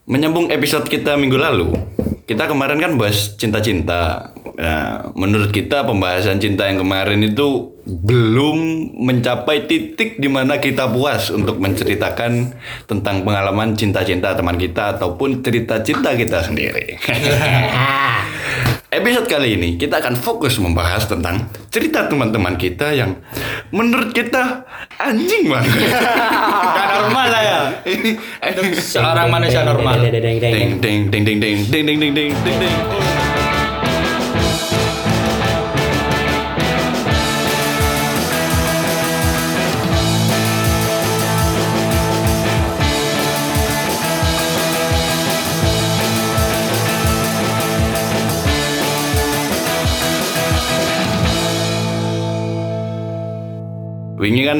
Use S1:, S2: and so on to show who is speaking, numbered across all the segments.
S1: Menyambung episode kita minggu lalu, kita kemarin kan bahas cinta-cinta. Nah, menurut kita pembahasan cinta yang kemarin itu belum mencapai titik di mana kita puas untuk menceritakan tentang pengalaman cinta-cinta teman kita ataupun cerita cinta kita sendiri. Episode kali ini kita akan fokus membahas tentang cerita teman-teman kita yang menurut kita anjing banget.
S2: Gak normal lah ya. Seorang manusia normal.
S1: Ding ding ding ding ding ding ding ding ding ding ding. Wingi kan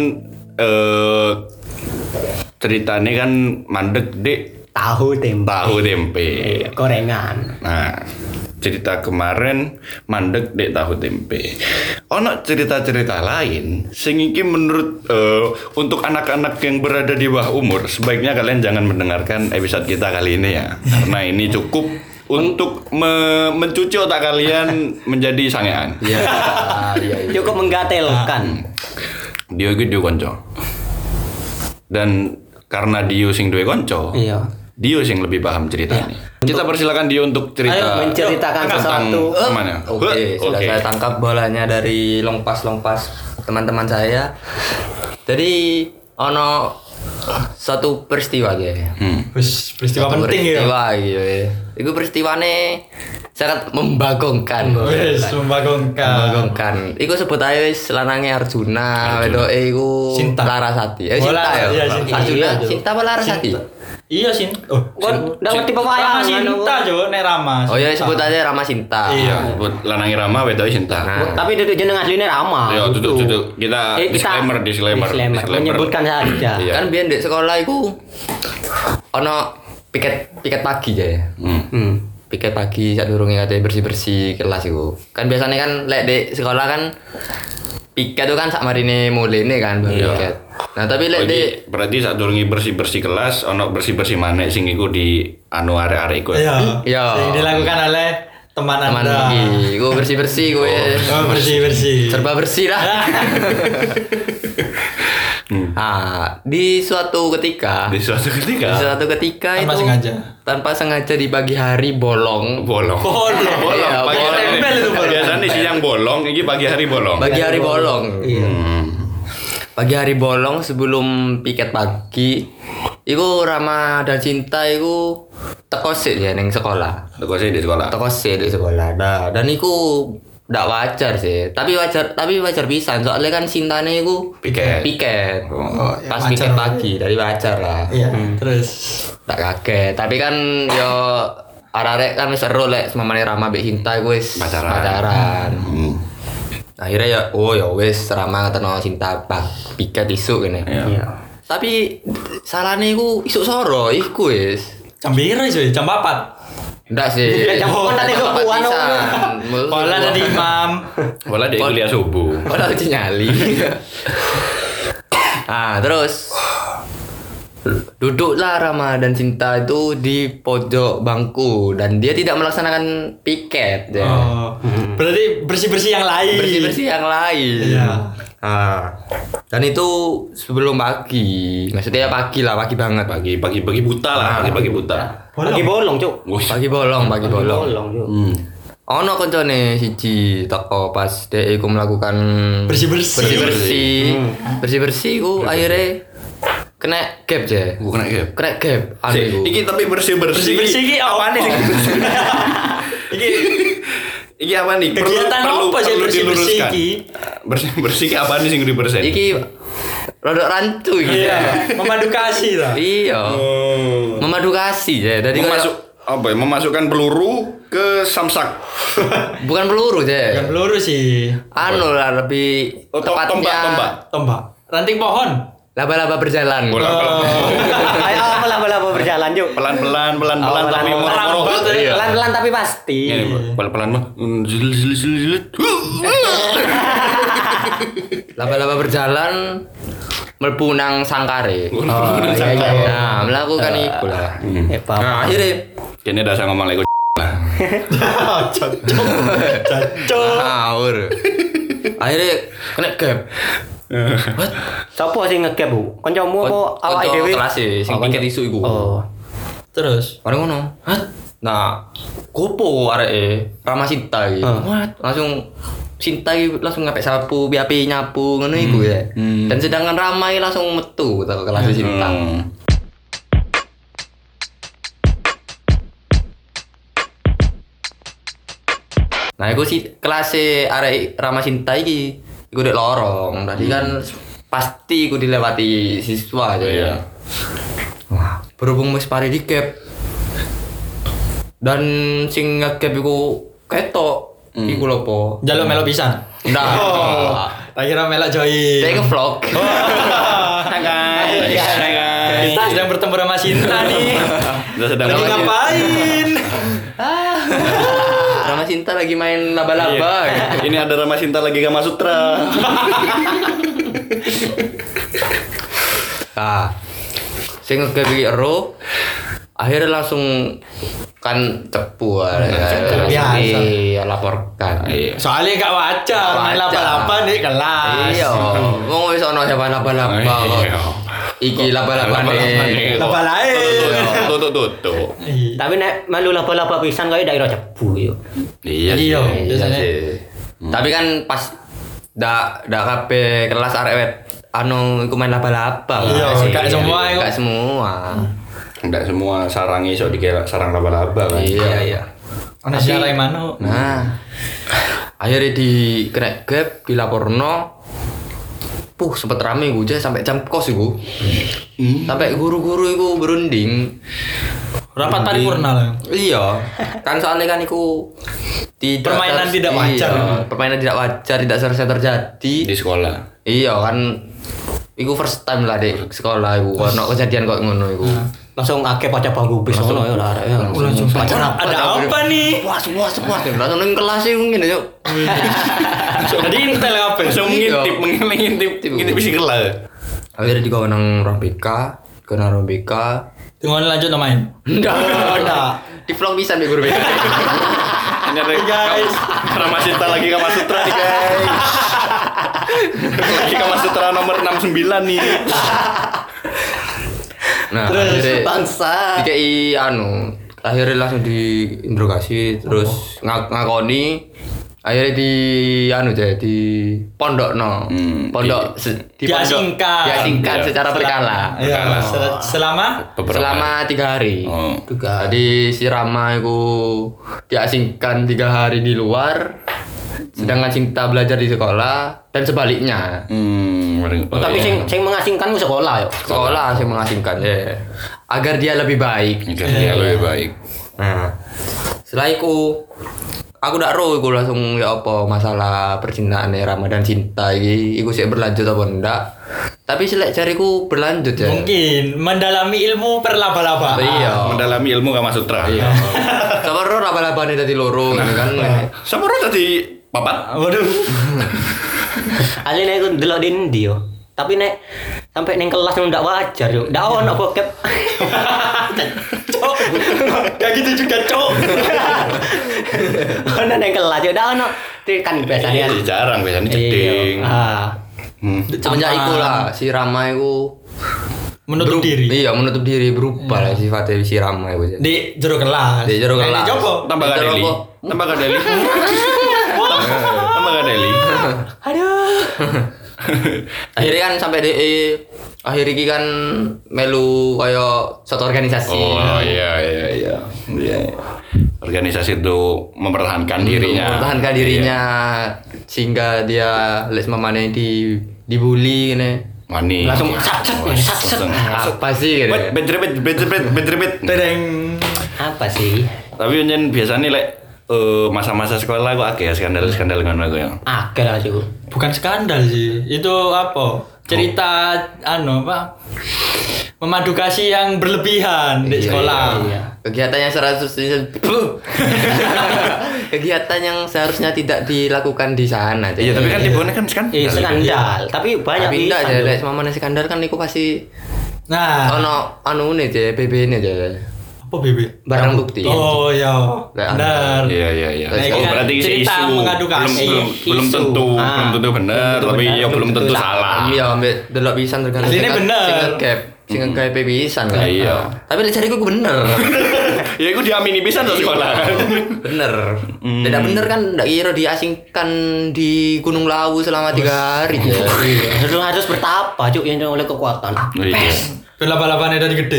S1: ceritanya kan mandek dek
S3: Tahu tempe. Gorengan.
S1: Nah, cerita kemarin mandek dek tahu tempe. Ono cerita-cerita lain sing iki menurut untuk anak-anak yang berada di bawah umur sebaiknya kalian jangan mendengarkan episode kita kali ini ya. Karena ini cukup untuk mencuci otak kalian menjadi sangean.
S3: Iya. Cukup menggatelkan.
S1: Dio iki duwe kanca. Dan karena Dio sing duwe kanca,
S3: Iya.
S1: Dio sing lebih paham ceritanya. Kita persilakan Dio untuk cerita.
S3: Ayo menceritakan sesuatu.
S1: Mana?
S4: Oke, sudah saya tangkap bolanya dari long pass teman-teman saya. Jadi ono satu peristiwa ya.
S2: Peristiwa
S4: Satu
S2: penting ya.
S4: peristiwa gitu ya. Itu peristiwane sangat membagongkan. Membagongkan. Iku sebut aja wis lanange Arjuna, wedoke iku
S2: Sinta.
S4: Larasati.
S2: Bola,
S4: Sinta ya.
S2: iya, Sinta.
S4: Arjuna,
S3: Iya,
S4: Sinta apa Larasati?
S2: Iya Sin. Oh,
S3: Nggak ngerti
S2: Rama
S3: pewayangan.
S2: Sinta Jo, nek Rama.
S4: Oh iya sebut aja Rama Sinta.
S2: Iya.
S1: Buat lanangi Rama wedoke Sinta.
S4: Nah.
S3: Tapi itu jeneng aslinya Rama.
S1: Ya,
S3: gitu.
S1: duduk. Kita disclaimer.
S3: Menyebutkan saja.
S1: Iya.
S4: Kan biyen di sekolah iku ono piket pagi ya. Piket pagi saat durunge kate bersih-bersih kelas iku. Kan biasanya kan lek di sekolah kan piket itu kan sak marine mulene kan
S1: Iya.
S4: piket. Nah, tapi lek di
S1: Berarti saat durungi bersih-bersih kelas ono bersih-bersih maneh sing iku di anu arek-arek iku.
S2: Iya.
S4: Iya.
S2: Yang dilakukan oleh teman
S4: teman
S2: Anda.
S4: iki, iku bersih-bersih gue.
S2: Oh, bersih.
S4: Serba bersih lah. Ah, di suatu ketika
S1: Di suatu ketika
S4: tanpa sengaja di pagi hari bolong.
S1: bolong.
S4: Iya,
S1: Pagi
S4: bolong.
S1: hari biasanya siang bolong, ini pagi hari bolong.
S4: Pagi hari bolong.
S3: Iya.
S4: Pagi hari bolong sebelum piket pagi. Iku Rama dan Cinta iku teko sik ya ning sekolah.
S1: Teko sih di sekolah.
S4: Teko sik di sekolah. Nah, dan iku ndak wajar sih. Tapi wajar pisan soalnya kan Cintane iku piket.
S1: Oh,
S4: Pas
S2: wajar.
S4: piket pagi, dari wajar lah.
S2: Iya. Terus
S4: Tak kaget. Tapi kan yo arek-arek kan wis seru lek semamane Rama mbek Cinta iku wis pacaran. Akhirnya ya wis Rama ketemu Cinta piket isuk kene.
S3: Iya.
S4: Tapi salahnya iku isuk soro iku wis.
S2: jam piro sih? Jam 4.
S4: Ndak sih.
S3: Jam empat tadi
S4: Jam
S3: subuhan,
S4: pisan.
S2: Bola dari imam.
S1: Bola dia kuliah subuh.
S4: Padahal udah nyali. Terus duduklah Rama dan Cinta itu di pojok bangku dan dia tidak melaksanakan piket ya.
S2: Oh. Berarti bersih-bersih yang lain.
S4: Bersih-bersih yang lain.
S2: Iya.
S4: Dan itu sebelum pagi. Maksudnya pagi banget.
S1: Pagi buta lah, pagi buta.
S3: Pagi bolong, Cuk.
S4: Pagi bolong.
S3: Bolong, Cuk.
S4: Ono koncone siji teko pas dhek iku melakukan
S2: Bersih-bersih.
S4: bersih iku akhirnya kena gap je.
S1: Bukan kayak.
S4: Kena gap anu iku.
S1: Iki tapi bersih-bersih
S2: Bersih-bersih iki apa nih?
S1: Iki apa nih?
S2: Kegiatan apa sih bersih-bersih iki?
S1: Bersih-bersih apa nih sing dibersihin?
S4: Iki rodok rancu iki.
S2: Iya. Memadu kasih lah.
S4: Iya. Memadu kasih ya. Dari
S1: Memasukkan peluru ke samsak.
S4: bukan peluru je.
S2: Bukan peluru sih.
S4: Anu lah lebih tepatnya
S1: Tombak.
S2: Ranting pohon.
S4: laba-laba berjalan.
S1: Bola.
S3: Ayo apa lah berjalan pelan-pelan Cuk.
S1: Pelan-pelan
S3: Oh,
S1: tapi
S3: pelan-pelan.
S1: moro-moro. Iya.
S3: Pelan-pelan tapi pasti.
S1: Ini pelan-pelan mah zilit.
S4: Laba-laba berjalan mlebu nang sangkare.
S3: Oh, iya.
S4: Nah, melakukan iku lah.
S3: Paham.
S4: Nah, akhirnya
S1: Kene dah saya ngomong lagi
S2: Cocok.
S4: ngawur. Akhirnya kena gap. What?
S3: Sopo sing ngegap, Bu? Kancamu apa awake dhewe?
S4: Kelas sing piket isu iku.
S3: Oh.
S2: Terus
S4: Bareng ngono. Nah, gopo areke Rama Sinta iki. What? Langsung Sinta iki langsung ngapik sapu, api nyapu ngono iku ya. Dan sedangkan Rama iki langsung metu ke kelas Sinta. Nah, iku si kelas arek Rama Sinta iki iku dek lorong. Tadi kan pasti iku dilewati siswa aja ya. Wah, berhubung wis pare di cap. Dan sing ngegap iku ketok. Iku lho po.
S2: jaluk melok pisan.
S4: Nah.
S2: Tak kira melok join.
S4: Dia vlog.
S2: Kita sedang bertemu sama Sinta nih.
S1: Kita sedang
S2: Lagi ngapain?
S4: Rama Sinta lagi main laba-laba.
S1: Ini ada Rama Sinta lagi Kama Sutra.
S4: Nah, sing ngegap iki ero akhirnya langsung kan cepu
S2: Biasa.
S4: Iya, laporkan.
S2: Soalnya gak wajar main laba-laba nih kelas.
S4: Iya, wong wis ono siapa laba-laba kok. Iki laba-laba nih.
S2: Laba lain.
S1: Tutup.
S3: Tapi nek melu laba-laba pisan kaya daerah cebu yo.
S1: Iya
S2: Iya.
S1: sih.
S2: Biasanya.
S4: Tapi kan pas dak kabeh kelas arek wet anu iku main laba-laba.
S2: Iya,
S4: Mas.
S2: gak semua iku.
S4: Gak semua.
S1: Enggak semua sarangi iso dikira sarang laba-laba kan.
S4: Iya.
S2: Ana siarai mano.
S4: Nah, akhirnya di kena gap dilaporno. Sempet rame gue aja sampai jam kos iku. Sampai guru-guru iku berunding.
S2: Rapat paripurna lah.
S4: Iya, kan soalnya kan iku
S2: Permainan tidak wajar.
S4: Iya, permainan tidak wajar, tidak seharusnya terjadi.
S1: Di sekolah.
S4: Iya kan, iku first time lah di sekolah iku. Ono kejadian kok ngono iku.
S3: Langsung akeh pada bangku bis ngono ya arek ya.
S2: Langsung ada apa nih?
S4: Puas. Langsung nang kelas iku ngene yuk.
S2: Jadi intel apa?
S1: Langsung ngintip isi kelas.
S4: Akhirnya digawe nang ruang BK, kena ruang BK.
S2: Tunggu lanjut no main.
S4: Enggak. Di vlog bisa nih guru BK.
S1: Ini ada
S2: Guys.
S1: Rama Sinta lagi Kama Sutra nih guys. Lagi Kama Sutra nomor 69 nih.
S4: Nah,
S3: Terus
S4: akhirnya
S3: bangsa.
S4: DKI akhirnya langsung diinterogasi terus ngakoni akhirnya di pondok diasingkan secara berkala
S2: Iya, selama
S4: selama 3 hari.
S1: Oh.
S4: Jadi si Rama itu diasingkan 3 hari di luar, sedangkan Sinta belajar di sekolah dan sebaliknya.
S3: Tapi sing mengasingkan ku sekolah yo.
S4: Sekolah sih mengasingkan ya, agar dia lebih baik.
S1: Agar dia lebih baik.
S4: Nah, setelah itu aku ndak roh iku langsung ya apa masalah percintaan Rama dan Sinta iku sih berlanjut apa enggak. Tapi selek jariku berlanjut ya.
S2: mungkin mendalami ilmu perlaba-laba.
S4: Iya.
S1: Mendalami ilmu Kama Sutra.
S4: Iya. Sama roh laba-labane dadi loro gitu kan.
S1: Sama orang tadi papat.
S2: Waduh.
S3: Ali nek ku delok di ndi yo. Tapi nek sampai ning kelas ndak wajar yo. Ndak ono bokep.
S2: Cok. Kayak gitu juga, Cok.
S3: Ono ning kelas yo ndak ono. Kan biasanya
S1: Iya, jarang biasanya jeding.
S3: Ah.
S4: Semenjak iku lah si Rama iku
S2: Menutup diri.
S4: Iya, menutup diri berubah lah sifatnya si Rama iku.
S2: Di jero kelas.
S4: Di jero kelas.
S2: Di jopo.
S1: Tambah gak Deli. Tambah gak Deli. Tambah gak Deli.
S3: Aduh.
S4: Akhirnya kan sampai akhir iki kan melu kaya satu organisasi.
S1: Oh iya. Organisasi itu mempertahankan dirinya.
S4: Mempertahankan dirinya sehingga dia les mamane dibully ngene.
S1: Mani.
S3: Langsung sat.
S4: Apa sih gitu.
S1: Bet.
S2: Tereng.
S3: Apa sih?
S1: Tapi nyen biasanya lek masa-masa sekolah aku akeh skandal-skandal ngono aku ya.
S3: Akeh lah sih.
S2: Bukan skandal sih. Itu apa? Cerita apa? memadukasi yang berlebihan di sekolah.
S3: Iya.
S4: Kegiatan yang kegiatan yang seharusnya tidak dilakukan di sana.
S1: Iya, tapi kan tibuannya kan
S3: Iya, skandal. Tapi banyak
S4: Tapi enggak
S3: pisan,
S4: aja
S3: Cuk.
S4: lek sama mana skandal kan iku pasti
S2: Nah,
S4: ono ane aja BB ini aja.
S2: apa BB?
S4: Barang bukti.
S2: Oh iya.
S4: Lah,
S2: Benar.
S1: Iya.
S2: Nah, ini
S1: Oh,
S2: kan
S1: berarti
S2: cerita
S1: isu
S2: mengadukasi.
S1: belum
S3: Isu.
S1: tentu
S3: Ah.
S1: belum tentu benar,
S3: Belum
S1: tapi
S3: benar,
S1: ya
S3: belum
S1: belum tentu
S3: tentu
S1: salah.
S4: Iya, ambek delok pisan tergantung.
S2: Aslinya bener.
S4: Sing ngegap, sing ngegap pisan kan.
S1: Iya.
S4: Tapi lek jariku bener.
S1: Ya iku diamini pisan to sekolah.
S4: Bener. Tidak bener kan ndak kira diasingkan di Gunung Lawu selama 3 hari ya.
S3: Harus bertapa, Cuk, yang oleh kekuatan.
S1: Iya.
S2: Balapan-balapannya dari gede.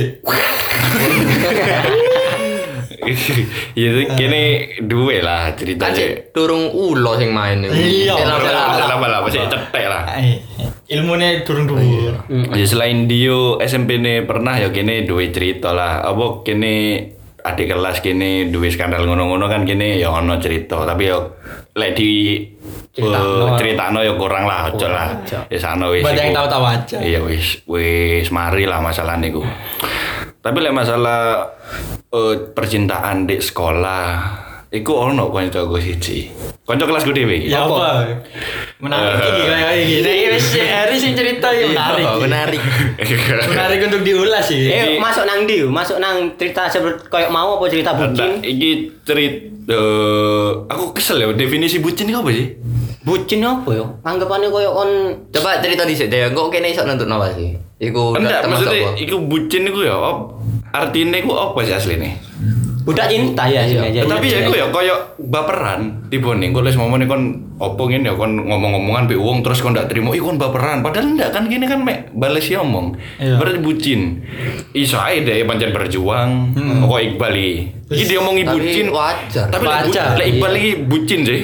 S1: Ya itu kene duwe lah
S4: Kan
S1: ceritanya.
S4: sih durung ulo sing main iku.
S2: Iya.
S1: Lah masih cetek lah.
S2: Ilmunya durung dhuwur.
S1: Ya selain Dio SMP ne pernah ya kene duwe cerita lah. Apa kene adik kelas kene duwe skandal ngono-ngono kan kene ya ono cerita, tapi ya lek di critakno ya kurang lah, aja lah. Ya sana wis.
S2: Banyak yang
S1: iku.
S2: tahu-tahu aja.
S1: Iya wis mari lah masalah niku. Tapi lek masalah percintaan di sekolah iku ono kancaku siji. Kanca kelasku dhewe iki.
S2: Ya apa? Menarik iki kayak gini. Nah, wis hari sing cerita ya menarik.
S4: Oh, menarik.
S2: Menarik untuk diulas sih.
S3: Masuk nang ndi? Masuk nang cerita seperti koyo mau apa cerita
S1: Ada,
S3: bucin?
S1: iki cerita aku kesel ya definisi bucin itu apa sih?
S3: Bucin apa yo? Anggapannya koyo on
S4: Coba cerita dhisik deh, kok kene iso nentut apa sih? Iku
S1: Enggak,
S4: termasuk
S1: maksudnya
S4: apa?
S1: iku bucin iku ya artinya iku apa sih aslinya?
S3: budak cinta ya sini aja.
S1: Tapi ya iku ya koyo baperan tibone engko les ngomongin kon opo ngene ya kon ngomong-ngomongan pe wong terus kon ndak trimo iku kon baperan padahal ndak kan gini kan mek bales ya omong.
S2: Iya.
S1: Berarti bucin. Iso ae deh pancen berjuang. Kok Iqbal iki dia omongi
S4: Tapi
S1: bucin
S4: wajar.
S1: Tapi
S2: Wajar.
S1: lek Iqbal iki bucin sih.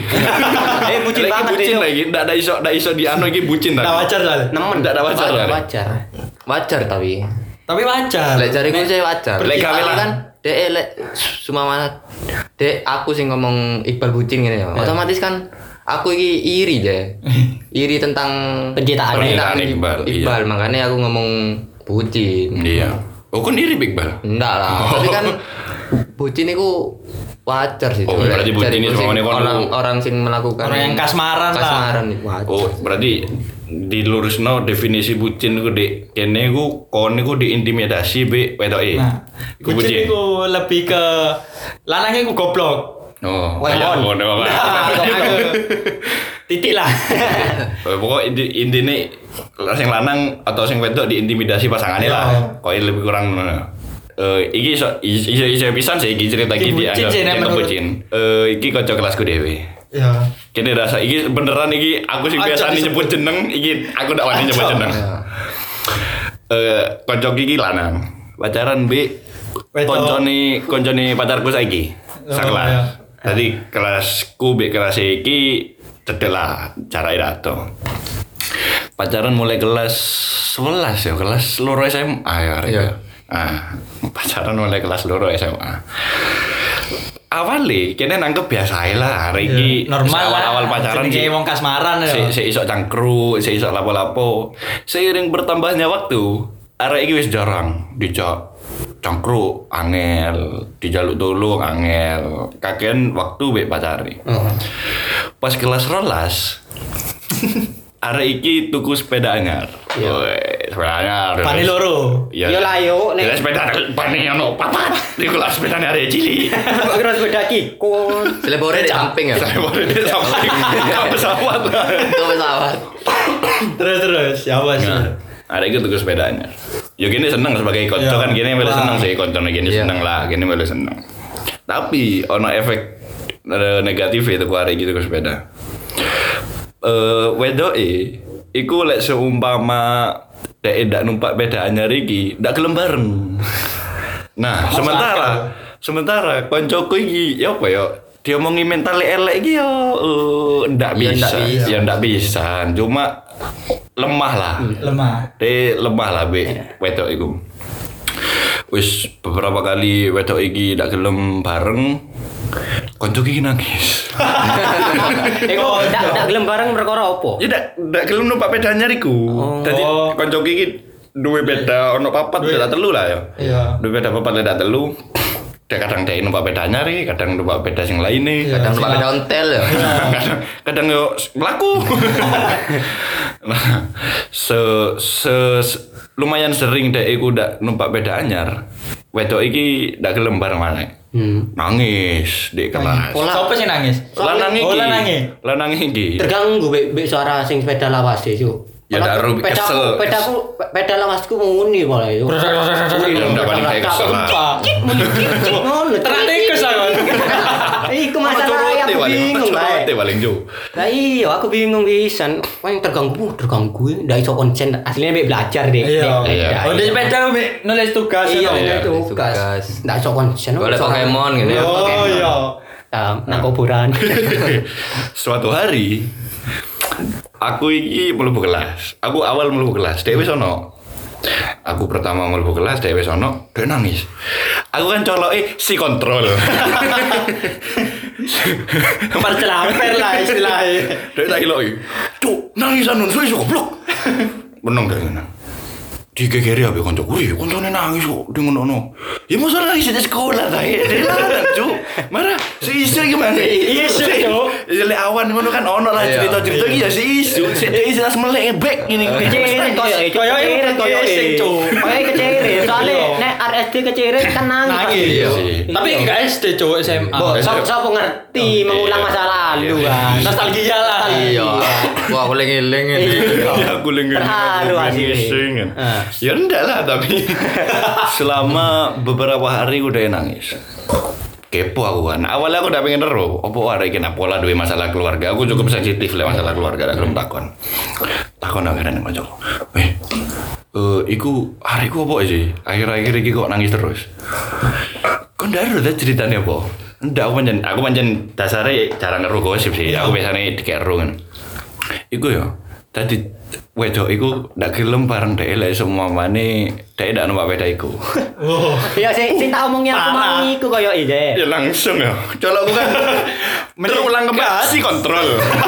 S3: Bucin
S1: Lek iki
S3: banget
S1: bucin
S3: itu.
S1: lagi ndak ada iso di anu iki bucin
S2: Nah,
S1: tadi.
S2: wajar soalnya.
S3: Nemen
S1: Ndak ada wajar lah.
S3: wajar.
S4: Wajar tapi.
S2: Tapi wajar.
S4: Lek jariku sih wajar.
S1: Lek gawe lah.
S4: kan dek lek sumama dek aku sing ngomong Iqbal bucin ngene ya. Otomatis kan aku iki iri deh. Iri tentang
S3: Penciptaan
S1: Iqbal, iya.
S4: makanya aku ngomong bucin.
S1: Iya. Oh kon iri Iqbal.
S4: Enggak lah, tapi kan bucin itu wajar sih.
S1: Oh, berarti bucin
S4: Jariku
S1: itu
S4: sing
S1: semuanya kon-
S4: orang sing melakukan
S2: Orang yang kasmaran lah.
S4: kasmaran itu wajar.
S1: Oh, berarti dilurusno definisi bucin ku Dik. Kene ku kon niku diintimidasi be wedoke.
S2: Nah,
S1: Iku
S2: bucin itu lebih ke lanangnya ku goblok.
S1: Oh,
S3: Wah,
S1: kayak
S3: Mon.
S1: ngono.
S2: Nah, titik lah.
S1: Pokok intine sing lanang atau sing wedok diintimidasi pasangannya lah. Kok lebih kurang ngono. Iki iso pisan sih iki cerita
S2: Iki
S1: iki
S2: bucin sih, nek
S1: dianggap
S2: menurut-
S1: bucin. Iki kanca kelasku dhewe.
S2: Ya.
S1: Kene rasa iki beneran iki aku sing
S2: Aja
S1: biasa
S2: disebut.
S1: nyebut jeneng iki aku ndak wani nyebut
S2: Aja.
S1: jeneng. Kanca iki lanang. Pacaran be
S2: Wedok.
S1: koncone pacarku saiki.
S2: Oh,
S1: Sakelas.
S2: iya.
S1: Tadi kelasku be kelas iki cedek lah cara irato. Pacaran mulai kelas 11 ya, kelas loro SMA ya.
S4: Iya.
S1: Pacaran mulai kelas loro SMA. Awalnya kene nangkep biasa ae lah, hari iki
S2: Normal lah.
S1: awal pacaran
S2: Jenenge wong kasmaran ya.
S1: si iso cangkruk, si iso lapo-lapo. Seiring bertambahnya waktu, arek iki wis jarang dijak cangkruk, angel, dijaluk tolong angel. Kakean waktu mbek pacari. Pas kelas 12 arek iki tuku sepeda anyar. Woi, sepeda anyar.
S2: Pani loro.
S1: Iya.
S3: Yo lah yo
S1: Nek
S3: nek
S1: sepeda pani ono papat. Iku lah sepedane arek cilik.
S3: kok kira sepeda ki kon
S4: Selebore di samping ya.
S1: Saya boleh dia sampai pesawat.
S4: Itu pesawat.
S2: Terus ya wes.
S1: Nah, ada itu tuh sepedanya. Ya gini seneng sebagai konco
S2: Ya.
S1: kan gini boleh
S2: Wah.
S1: seneng sih konco gini
S4: Iya.
S1: seneng lah gini boleh seneng. Tapi ono efek negatif itu ku hari gitu ke sepeda. Wedoke iku lek seumpama dek ndak numpak sepeda anyar iki ndak gelem bareng. Nah, sementara koncoku iki ya apa ya diomongi mental elek iki yo ndak
S4: Ya,
S1: bisa.
S4: ndak bisa.
S1: Ya ndak bisa. Cuma lemah lah.
S2: Lemah.
S1: Lemah lah be wedok iku. Wis beberapa kali wedok iki ndak gelem bareng. Konco iki nangis.
S3: kok ndak gelem bareng perkara opo?
S1: Ya ndak gelem numpak sepeda anyar iku. Dadi konco iki duwe beda ono papat beda telu lah ya.
S2: Iya.
S1: Duwe beda papat beda telu. Dia kadang dia numpak beda anyar, kadang numpak beda sing lain nih,
S2: Iya.
S4: Kadang numpak beda ontel ya.
S1: kadang yo mlaku. Nah, lumayan sering dek iku ndak numpak beda anyar. Wedok iki ndak gelem bareng maneh. Nangis di kelas.
S2: Siapa sih nangis?
S1: Lanang iki.
S2: Oh, lanange.
S1: Lanang iki.
S3: Terganggu be suara sing sepeda lawas itu.
S1: Ya ndak rugi kesel.
S3: Peda lawasku muni pola itu.
S1: Ya ndak paling kayak kesel lah.
S3: Ngono.
S2: Tenan tikus lah.
S3: Iku masalah aku bingung lah.
S1: Paling jauh.
S3: Lah iya aku bingung pisan. Wah yang terganggu ndak iso konsen. Aslinya be belajar deh.
S1: Iya.
S2: Oh, di sepeda Mbak, nulis tugas.
S3: Iya,
S2: itu.
S3: itu tugas. Ndak iso konsen.
S4: Boleh Pokemon gitu ya.
S2: Oh iya.
S3: Nang kuburan.
S1: Suatu hari aku iki mlebu kelas. Aku awal mlebu kelas, dhek wis ono. Aku pertama mlebu kelas, dhek wis ono, dhek nangis. Aku kan coloke si kontrol.
S2: Percelamper lah istilahnya.
S1: Dhek tak iloki. Cuk, nangis anu suwe goblok. Meneng dhek ngene. Digegeri abe kancaku, "Wih, kancane nangis kok di ngono." Ya masa nangis di sekolah ta. Dia larang, Cuk. Marah, si isu gimana?
S2: Iya, Cuk.
S1: Lek awan ngono kan ono lah cerita-cerita iki ya si isu. Sik dhek iso melek bek ngene.
S3: Keceret koyo
S2: sing Cuk.
S3: Kayak keceret. Soale nek RSD keceret kan nangis.
S2: Nangis.
S1: Iya.
S2: Tapi enggak SD cowok SMA.
S3: Siapa ngerti mengulang masa lalu kan.
S2: Nostalgia lah.
S4: Iya. Wah, aku eling
S1: Ya aku lengan.
S3: Terharu
S1: asli. Ya enggak lah tapi selama beberapa hari udah nangis. Kepo aku kan. Awalnya aku udah pengen ero. Opo hari kena pola duwe masalah keluarga. Aku cukup sensitif lah masalah keluarga. Aku belum takon. Takon akhirnya nih kancaku. Iku hariku apa sih? Akhir-akhir iki kok nangis terus. Kok ndak ada ceritanya apa? Ndak aku pancen dasare jarang ngeru gosip sih. Aku biasanya dikero kan. Iku ya. Tadi wedok iku ndak gelem bareng dhek lek semua mane dhek ndak numpak beda iku.
S2: Oh.
S3: Ya sing tak omongnya aku mau iku koyo ide.
S1: Ya langsung ya. Colokku kan terulang kembali si kontrol.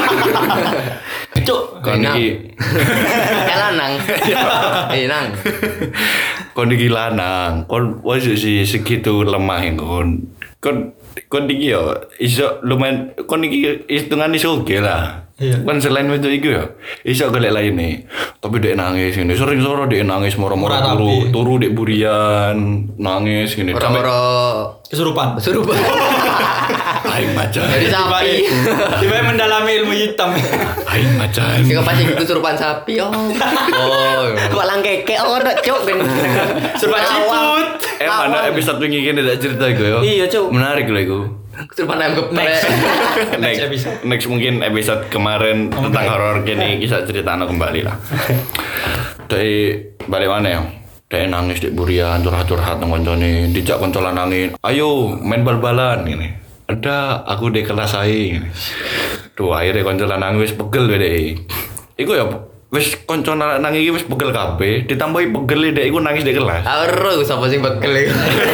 S2: Cuk.
S1: Kon iki
S4: Lanang. Nang.
S1: kon iki lanang. Kon wis segitu lemah kon. Kon iki yo iso lumayan kon iki hitungane soge lah.
S2: Iya.
S1: Kan selain itu iku ya iso golek lainnya. Tapi dek nangis ini sering soro dek nangis moro-moro turu dek burian nangis gini.
S4: Ora-ora
S2: Kesurupan.
S1: Aing macan.
S4: Jadi sapi.
S2: Tiba mendalami ilmu hitam.
S1: Aing macan.
S4: Sing pasti kesurupan sapi. Oh.
S3: Walang keke ono cuk ben.
S2: Surupan siput.
S1: Mana episode wingi kene dak cerita iku yo.
S3: Iya, Cuk.
S1: Menarik lho iku.
S4: Kesurupan ayam geprek.
S1: Next mungkin episode kemarin tentang horor kini kisah cerita kembali lah. Dari balik mana ya? Dari nangis di burian curhat-curhat nang koncone, dijak koncolan nangis. Ayo main bal-balan gini. Ada aku di kelas ae. Tuh akhirnya koncolan nangis pegel deh. Iku ya wis koncolan nangis iki wis pegel kabeh, ditambahi pegel dek iku nangis di kelas.
S4: Ero sapa sing bekel iku.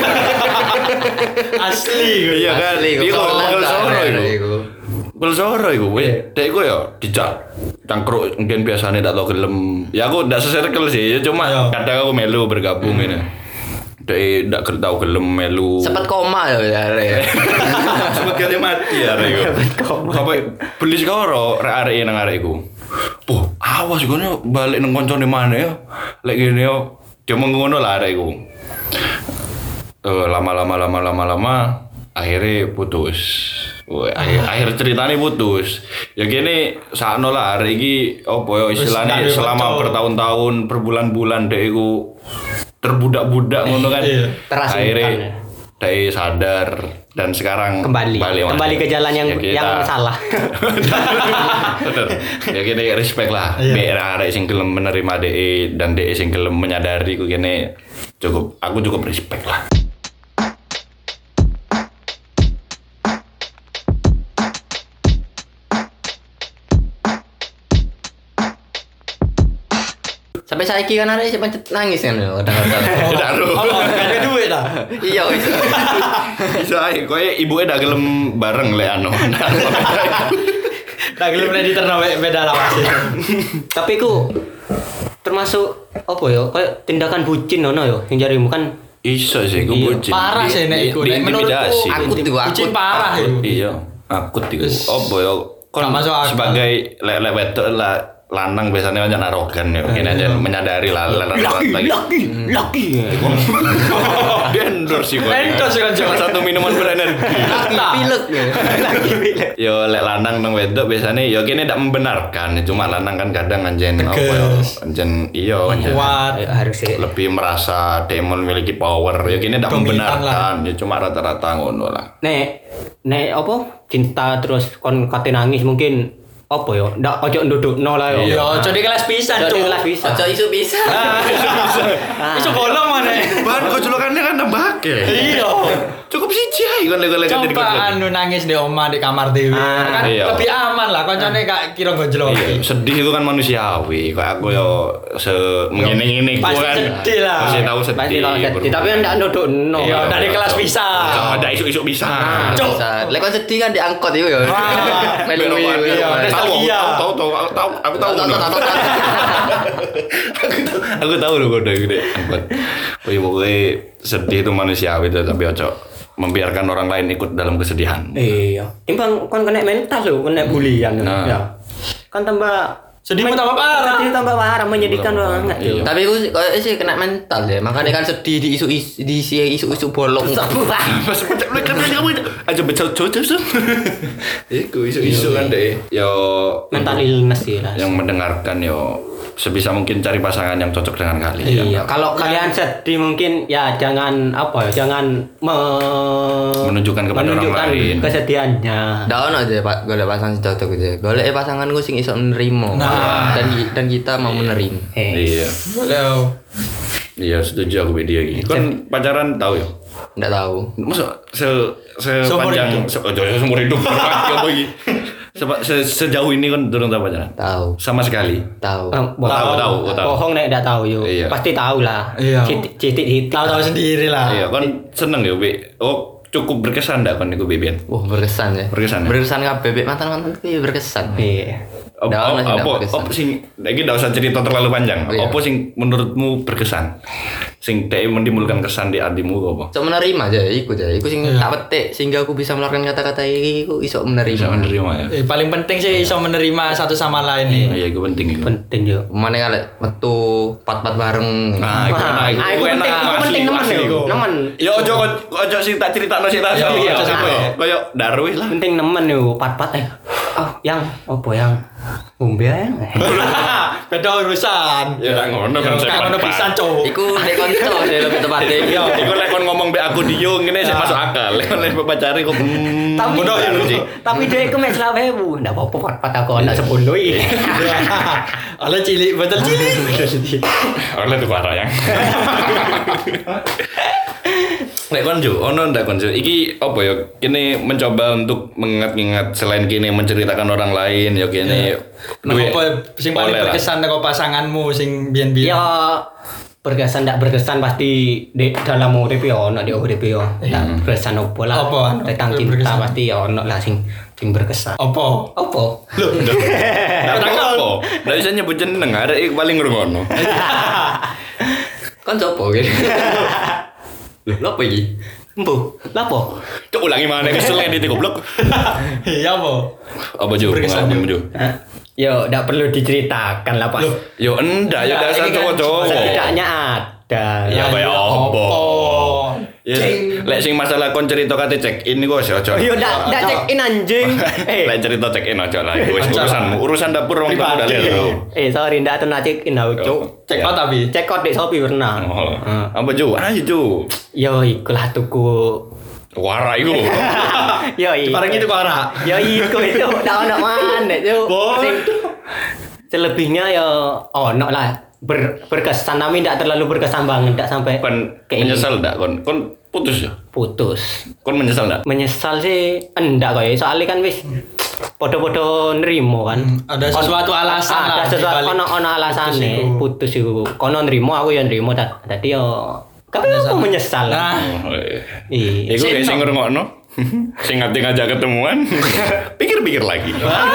S2: Asli.
S1: Iya kan? Iku pegel soro iku. Pegel soro iku. Dek iku ya dijak cangkruk mungkin biasanya ndak tau gelem. Ya aku ndak se-circle sih, ya cuma kadang aku melu bergabung ini. Dek ndak tau gelem melu.
S4: Sempat koma ya arek.
S1: Sempat kali mati ya arek iku. Sampai beli sekoro arek nang arek iku. Awas ngono balik nang koncone mana ya. Lek ngene yo dia mengono lah arek iku. Lama akhirnya putus. Akhir ceritanya putus. Ya gini sakno lah hari ini opo yo istilahnya selama bertahun-tahun berbulan-bulan dek iku terbudak-budak ngono kan. Akhirnya dek sadar dan sekarang
S3: kembali ke jalan yang salah.
S1: Bener. Ya gini respect lah. Biar arek sing gelem menerima dek dan dek sing gelem menyadari ku gini aku cukup respect lah.
S4: Sampai saiki kan arek sik pancet nangis kan kadang-kadang.
S2: Oh, kan duit dah.
S4: Iya wis.
S1: Bisa ae koyo ibuke ndak gelem bareng lek anu.
S2: Tak gelem nek diterno beda lawas.
S3: Tapi ku termasuk apa ya? Kayak tindakan bucin ono ya yang jarimu kan
S1: Iso sih, gue
S3: Iya,
S1: bucin.
S2: parah sih, nek iku. Nek menurutku,
S1: Diintimidasi.
S2: bucin parah ya.
S1: Iya, akut iku. Apa ya? Kon
S2: Gak masuk akal.
S1: sebagai lek wedok lah lanang biasanya kan arogan ya. Ini aja menyadari lah
S3: laki.
S1: Dia endorse sih kok.
S2: Endorse kan,
S1: Salah satu minuman berenergi.
S4: Pilek ya.
S1: Yo lek lanang nang wedok biasanya yo kene ndak membenarkan, cuma lanang kan kadang anjen apa yo anjen iya anjen
S2: Kuat.
S3: Harus
S1: lebih merasa dia memiliki power ya kini tidak
S2: Dominan
S1: membenarkan ya cuma rata-rata ngono lah
S3: nek apa cinta terus kon kate nangis mungkin apa ya ndak ojo ndudukno lah yo.
S2: Yo, jadi kelas pisan,
S3: Jadi
S2: Cuk.
S3: kelas bisa.
S4: Ojo isu bisa.
S2: Iso bolong mana?
S1: bahan kocolokannya kan nambah ke
S2: Iya.
S1: cukup siji ae kon lek
S2: Coba anu nangis di omah di kamar dewi. Kan
S1: iya.
S2: lebih aman lah koncone gak kira gojlok.
S1: Iya, sedih itu kan manusiawi kayak aku yo ngene-ngene ku
S2: Pasti
S1: kan
S2: sedih lah.
S1: pasti tahu
S3: Pasti
S1: sedih
S3: tahu sedih, tapi ndak ndudukno.
S2: Iya, dari kelas bisa.
S1: ada isu-isu bisa
S2: Cuk.
S4: Lek kon sedih kan diangkot itu ya.
S2: Wah.
S4: Melu
S2: Iya, nostalgia.
S1: aku tahu aku tahu loh kode gede angkot pokoknya sedih itu manusiawi itu tapi ojo membiarkan orang lain ikut dalam kesedihan.
S3: Iya. Timbang kon kena mental lho, kena bulian.
S1: Nah.
S3: Ya. Kan tambah
S2: Sedihmu tambah parah.
S3: Sedih tambah parah menyedihkan banget
S1: Iya.
S3: yo.
S4: Tapi aku kayak sih kena mental ya. Makanya kan sedih di isu-isu bolong.
S1: Pas pecah kan kamu aja becau-becau tuh. Iku isu-isu kan deh. Yo
S3: Mental illness sih lah.
S1: yang mendengarkan yo sebisa mungkin cari pasangan yang cocok dengan kalian.
S3: Iya, kalau kalian sedih mungkin ya jangan apa ya, jangan
S1: Menunjukkan kepada orang lain.
S3: kesedihannya.
S4: Ndak ono aja Pak, golek pasangan sing cocok aja. Golek pasanganku sing iso nerimo.
S2: Nah.
S4: Dan kita mau menerima.
S1: Iya.
S2: Boleh.
S1: Iya, setuju aku video ini. Kan pacaran tahu ya?
S4: Ndak tahu.
S1: Masa sepanjang seumur hidup ya bagi. Sejauh ini kan durung tahu pacaran.
S4: Tahu.
S1: Sama sekali.
S4: Tahu.
S1: Tahu.
S3: Bohong nek ndak tahu yo.
S1: Iya.
S3: Pasti tahu lah.
S2: Iya.
S3: Titik
S2: Tahu sendiri lah.
S1: Iya, kan seneng ya, Bi. Oh, cukup berkesan ndak kan iku Bibian?
S4: Wah, berkesan ya.
S1: Berkesan ya?
S4: Berkesan kabeh mantan-mantan itu berkesan.
S3: Iya.
S1: Apa sing iki ndak usah cerita terlalu panjang.
S4: Iya.
S1: Apa sing menurutmu berkesan? Sing dhek menimbulkan kesan di hatimu apa?
S4: Iso menerima aja, iku aja. Iku sing tak petik sehingga aku bisa mengeluarkan kata-kata iki iku iso menerima.
S1: Bisa menerima ya.
S2: Paling penting sih iso menerima satu sama lain nih.
S1: Iya, itu penting itu.
S3: Penting yo.
S4: Mana kali metu pat-pat bareng.
S1: Nah, itu enak.
S3: Ah, itu penting nemen yo. Nemen.
S1: Ya ojo sing tak critakno sik tak sih.
S2: Iya,
S1: Kayak Darwis lah.
S3: Penting nemen yo, pat-pat yang apa yang ngombe yang.
S2: Beda urusan.
S1: Ya tak ngono kan
S2: Kayak ngono pisan, Cuk.
S4: Iku nek konco sih lebih tepatnya.
S1: Iya, iku lek kon ngomong mbek aku Dio ngene sik masuk akal. Lek lek pacare kok
S3: Tapi
S1: bodoh ya lu sih.
S3: Tapi dia itu mek 20.000. Ndak apa-apa pat-pat aku anak 10 iki.
S2: Oleh cilik, betul cilik.
S1: Oleh tuh parah yang. Lek kon Jo, ono ndak kon Jo? Iki apa ya? Kene mencoba untuk mengingat-ingat selain kene menceritakan orang lain ya kene duwe
S2: Apa sing paling
S1: oleh lah.
S2: berkesan karo pasanganmu sing biyen-biyen?
S3: Ya berkesan ndak berkesan pasti di dalam urip yo ono di urip yo. Ndak berkesan opo lah.
S2: Apa?
S3: Tentang cinta
S2: Berkesan.
S3: pasti ya ono lah sing berkesan.
S2: Apa?
S3: Opo?
S1: Ndak apa. Ndak bisa nyebut jeneng, ada iki paling ngrungono.
S4: Kon copo gitu. Lho, apa iki?
S3: Empu, lapo?
S1: Cuk ulangi mana kesel edit goblok.
S2: Iya, apa?
S1: Apa Jo?
S2: Berkesan,
S1: Pengalaman Jo.
S3: Yo, ndak perlu diceritakan lah, Pak.
S1: Yo enggak, yo dasar
S2: ini kan
S1: cowok-cowok.
S3: Setidaknya ada.
S1: Ya kayak opo.
S2: Oh.
S1: Ya, lek sing masalah kon cerita kate check in niku wis aja.
S3: Yo, ndak check in anjing.
S1: Lek cerita check in aja lah, iku wis urusanmu. Urusan dapur wong tamu dalil bro.
S3: Sorry ndak atuh check in aku, Cuk.
S2: Cek out tapi.
S3: Cek out di Shopee pernah.
S1: Oh. Apa Jo? Ayo Jo.
S3: Yo, ikulah tuku.
S1: Wara iku.
S3: Yo, iku.
S2: Barang itu kok ora.
S3: Ya iku itu ndak ono maneh itu.
S2: Boy.
S3: Selebihnya ya ono lah berkesan tapi ndak terlalu berkesan banget ndak sampai
S1: Kon
S3: kayak
S1: menyesal ndak kon? Kon putus ya?
S3: putus.
S1: Kon menyesal ndak?
S3: Menyesal sih enggak kok ya soalnya kan wis podo-podo nrimo kan.
S2: Ada sesuatu alasan lah
S3: Ada sesuatu
S2: dibalik
S3: ono alasane putus iku. Kono nrimo aku ya nrimo dadi yo tapi aku menyesal lah.
S2: Nah,
S1: Oh, iya.
S3: Iya.
S1: Iku guys sing ngrungokno Sing ngati ngajak ketemuan. Pikir-pikir lagi.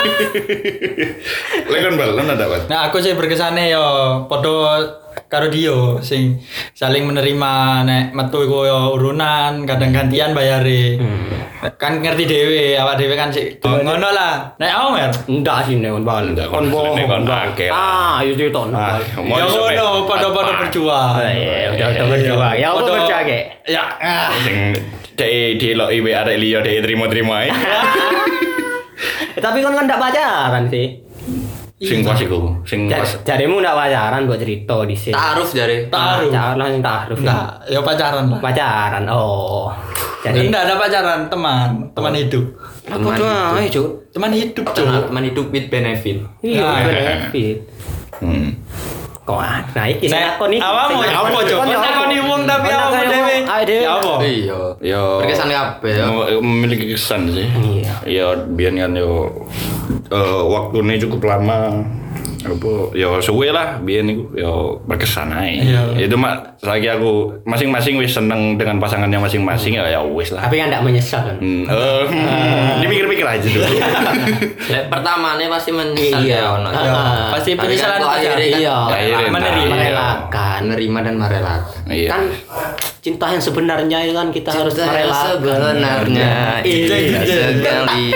S1: Lekon bal, lo dapat.
S2: Nah, aku sih berkesane yo padha karo Dio sing saling menerima nek metu iku yo urunan, kadang gantian bayare. Kan ngerti dhewe, awak dhewe kan sik ngono lah. Nek Omer,
S3: Enggak sih nek bal.
S1: Kon bohong kon bangke.
S3: Ayo cerita bal.
S2: ya ngono padha-padha berjuang.
S3: Udah berjuang. Ya apa berjuang ge?
S2: Ya.
S1: Sing cek diloki wae arek liya dhek trimo-trimo ae.
S3: Tapi kan ndak pacaran sih.
S1: Sing pas iku, sing pas.
S3: Jarimu ndak pacaran buat cerita di sini.
S4: Ta'aruf jare.
S2: Ta'aruf.
S3: Pacaran yang ta'aruf.
S2: Enggak, ya pacaran lah.
S3: Pacaran. Oh. Jadi
S2: Enggak ada pacaran, teman hidup.
S3: apa tuh ayo, Cuk?
S2: Teman hidup, Cuk.
S4: Teman hidup with benefit.
S3: Iya,
S2: Nah,
S3: benefit. Kok nah iki
S2: Nek
S3: aku nih.
S2: awakmu ya apa, Cuk? Kon takoni wong tapi awakmu dhewe. Ya apa?
S4: Iya.
S1: Yo
S4: Berkesan kabeh ya.
S1: memiliki kesan sih.
S3: Iya.
S1: Ya biar kan yo waktunya cukup lama. Apa ya suwe lah biar niku yo berkesan ae.
S2: Iya.
S1: Itu mak lagi aku masing-masing wis seneng dengan pasangannya masing-masing ya wis lah.
S3: Tapi kan ndak menyesal kan.
S1: Dipikir-pikir aja dulu.
S4: Lek pertamane pasti menyesal ya ono.
S2: Ya, pasti penyesalan
S4: Tapi kan kok
S2: pacaran.
S4: akhirnya kan
S3: Iya.
S1: Akhirnya
S2: menerima.
S3: Merelakan.
S4: menerima dan merelakan.
S1: Iya.
S3: Kan cinta yang sebenarnya itu kan kita harus merelakan.
S4: Sebenarnya
S2: Iya.
S4: sekali.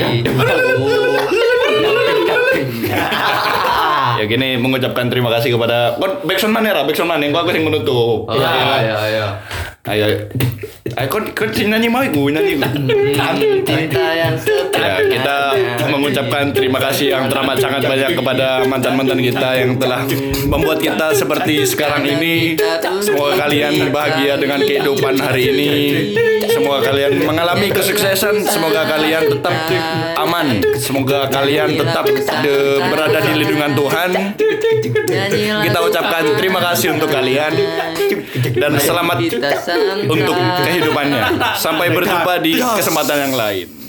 S1: Ya gini mengucapkan terima kasih kepada backsound mana ya, backsound mana yang aku yang menutup.
S4: Iya.
S1: Ayo, kon nyanyi mau gue nyanyi.
S4: Cinta yang
S1: Ya, kita mengucapkan terima kasih yang teramat sangat banyak kepada mantan-mantan kita yang telah membuat kita seperti sekarang ini. Semoga kalian bahagia dengan kehidupan hari ini. Semoga kalian mengalami kesuksesan. Semoga kalian tetap aman. Semoga kalian tetap berada di lindungan Tuhan. Kita ucapkan terima kasih untuk kalian dan selamat untuk kehidupannya. Sampai berjumpa di kesempatan yang lain.